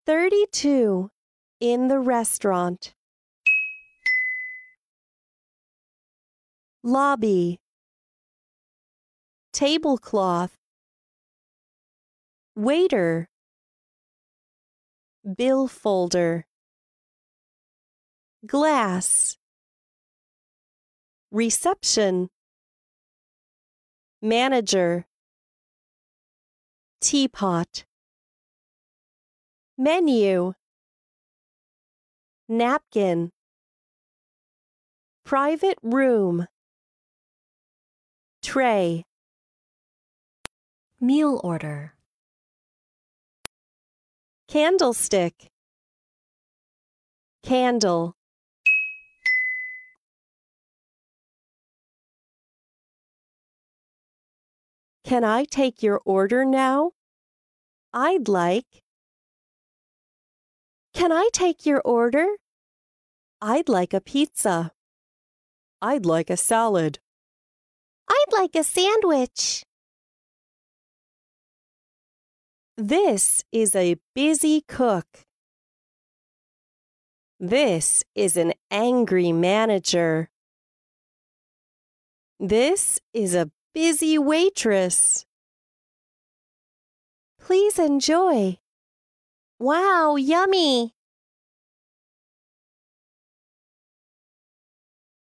32. In the restaurant. Lobby. Tablecloth. Waiter. Bill folder. Glass. Reception. Manager. Teapot. Menu. Napkin. Private room. Tray. Meal order. Candlestick. Candle. Can I take your order now? I'd like. Can I take your order? I'd like a pizza. I'd like a salad. I'd like a sandwich. This is a busy cook. This is an angry manager. This is a busy waitress. Please enjoy. Wow, yummy!